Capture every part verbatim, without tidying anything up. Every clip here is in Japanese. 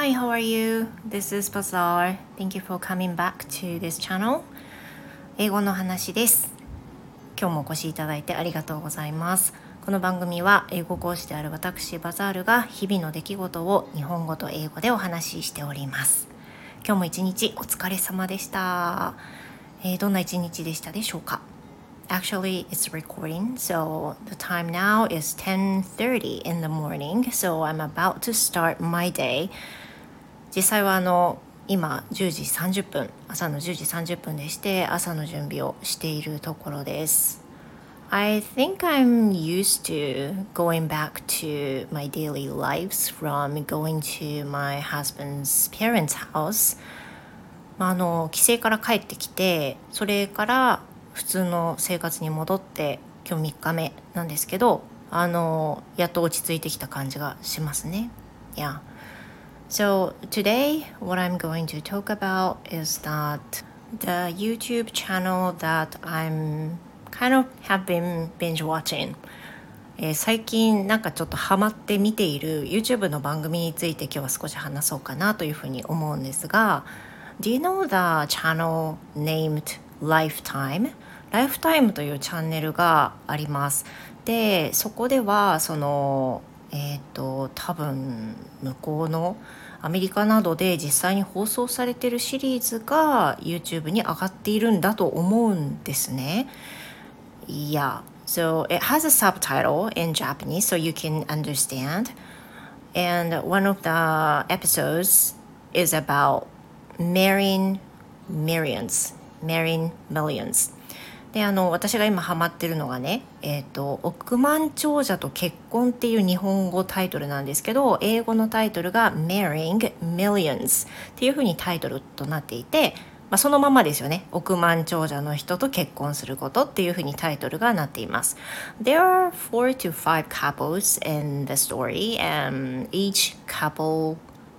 Hi, how are you? This is Bazaar. Thank you for coming back to this channel. 英語の話です。今日もお越しいただいてありがとうございます。この番組は英語講師である私バザールが日々の出来事を日本語と英語でお話ししております。今日も一日お疲れ様でした。えー、どんな一日でしたでしょうか？Actually, it's recording, so the time now is ten thirty in the morning, so I'm about to start my day. 実際はあの今じゅうじさんじゅっぷん、朝のじゅうじさんじゅっぷんでして朝の準備をしているところです。I think I'm used to going back to my daily lives from going to my husband's parents' house. まあ、あの帰省から帰ってきて、それから普通の生活に戻って今日みっかめなんですけど、あのやっと落ち着いてきた感じがしますね。Yeah. So today what I'm going to talk about is that the YouTube channel that I'm kind of have been binge watching. えー、最近なんかちょっとハマって見ている YouTube の番組について今日は少し話そうかなというふうに思うんですが、Do you know the channel named Lifetime? ライフタイムというチャンネルがあります。で、そこではそのえっと多分向こうのアメリカなどで実際に放送されているシリーズが YouTube に上がっているんだと思うんですね。Yeah, so it has a subtitle in Japanese so you can understand. And one of the episodes is about marrying millions, marrying millions. で、あの私が今ハマってるのがね、えっと億万長者と結婚っていう日本語タイトルなんですけど、英語のタイトルが Marrying Millions っていう風にタイトルとなっていて、まあ、そのままですよね。億万長者の人と結婚することっていう風にタイトルがなっています。There are four to five couples in the story, and each couple,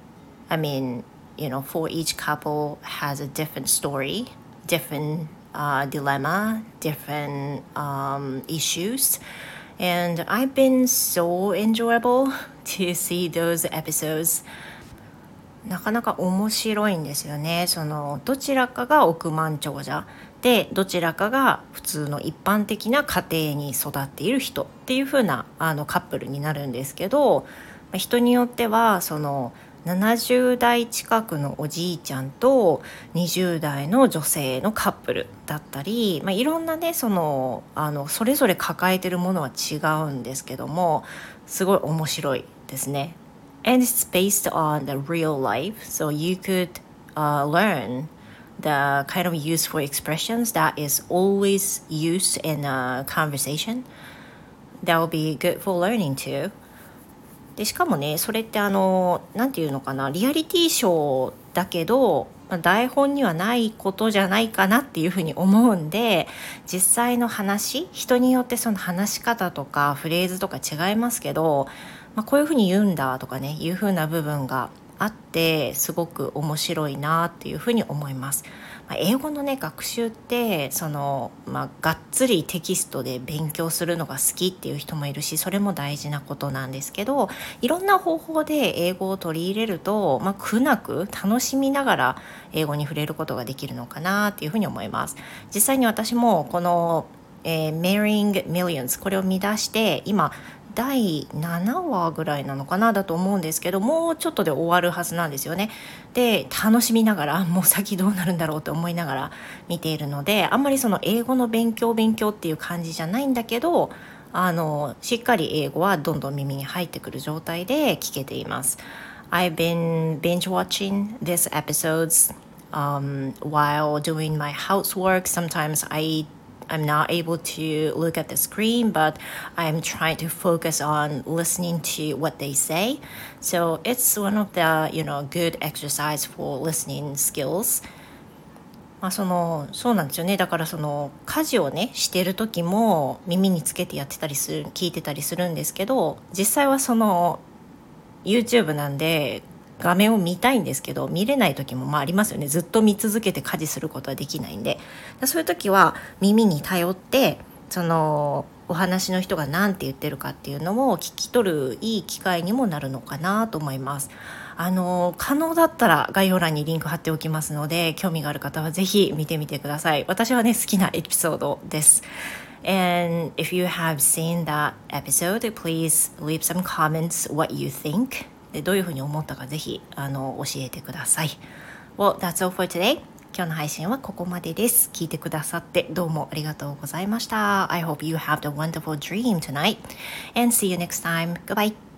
I mean, you know, for each couple has a different story, different Uh, dilemma, different um, issues, and I've been so enjoyable to see those episodes. なかなか面白いんですよね。そのどちらかが億万長者で、どちらかが普通の一般的な家庭に育っている人っていう風なあのカップルになるんですけど、人によってはそのななじゅう代近くのおじいちゃんとにじゅう代の女性のカップルだったり、まあ、いろんなねそのあのそれぞれ抱えてるものは違うんですけども、すごい面白いですね。And it's based on the real life, so you could、uh, learn the kind of useful expressions that is always used in a conversation. That will be good for learning too.でしかもね、それってあのなんていうのかな、リアリティショーだけど、まあ、台本にはないことじゃないかなっていうふうに思うんで、実際の話、人によってその話し方とかフレーズとか違いますけど、まあ、こういうふうに言うんだとかね、いうふうな部分があってすごく面白いなっていうふうに思います。まあ、英語のね学習ってその、まあ、がっつりテキストで勉強するのが好きっていう人もいるし、それも大事なことなんですけど、いろんな方法で英語を取り入れると、まあ、苦なく楽しみながら英語に触れることができるのかなっていうふうに思います。実際に私もこの、えー、Marrying Millions これを見出して今だいななわぐらいなのかなだと思うんですけど、もうちょっとで終わるはずなんですよね。で、楽しみながらもう先どうなるんだろうと思いながら見ているので、あんまりその英語の勉強勉強っていう感じじゃないんだけど、あのしっかり英語はどんどん耳に入ってくる状態で聞けています。I've been binge watching these episodes、um, while doing my housework. Sometimes I I'm not able to look at the screen, but I'm trying to focus on listening to what they say. So it's one of the, you know, good exercise for listening skills. まあ、そのそうなんですよね。だからその家事をねしてる時も耳につけてやってたりする、聞いてたりするんですけど、実際はその YouTube なんで画面を見たいんですけど、見れない時もまあありますよね。ずっと見続けて家事することはできないんで、そういう時は耳に頼ってそのお話の人が何て言ってるかっていうのを聞き取るいい機会にもなるのかなと思います。 あの可能だったら概要欄にリンク貼っておきますので、興味がある方はぜひ見てみてください。私はね好きなエピソードです。And if you have seen that episode, please leave some comments what you think. でどういうふうに思ったかぜひあの教えてください。Well, that's all for today. 今日の配信はここまでです。聞いてくださってどうもありがとうございました。I hope you have a wonderful dream tonight and see you next time. Goodbye.